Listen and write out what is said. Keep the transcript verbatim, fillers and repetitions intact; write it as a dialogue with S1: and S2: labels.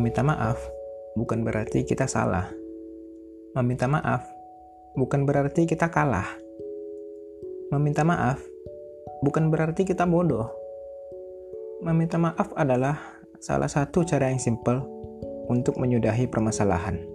S1: Meminta maaf bukan berarti kita salah. Meminta maaf bukan berarti kita kalah. Meminta maaf bukan berarti kita bodoh. Meminta maaf adalah salah satu cara yang simpel untuk menyudahi permasalahan.